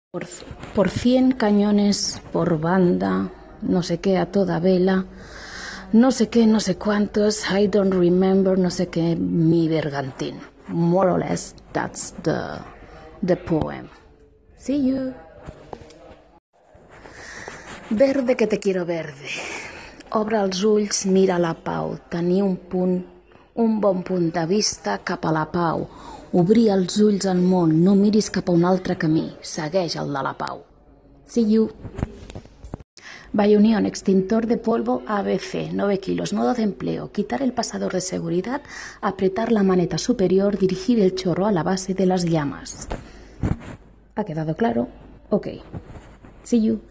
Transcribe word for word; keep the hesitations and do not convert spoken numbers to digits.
Por, por cien cañones por banda, no sé qué, a toda vela, no sé qué, no sé cuántos, I don't remember, no sé qué, mi bergantín. More or less, that's the, the poem. See you. Verde que te quiero verde. Obre els ulls, mira la pau, tenir un punt, un bon punt de vista cap a la pau. Obrir els ulls al món, no miris cap a un altre camí, segueix el de la pau. See you. Bayonión, extintor de polvo A B C, nueve kilos, modo de empleo, quitar el pasador de seguridad, apretar la maneta superior, dirigir el chorro a la base de las llamas. ¿Ha quedado claro? Ok. See you.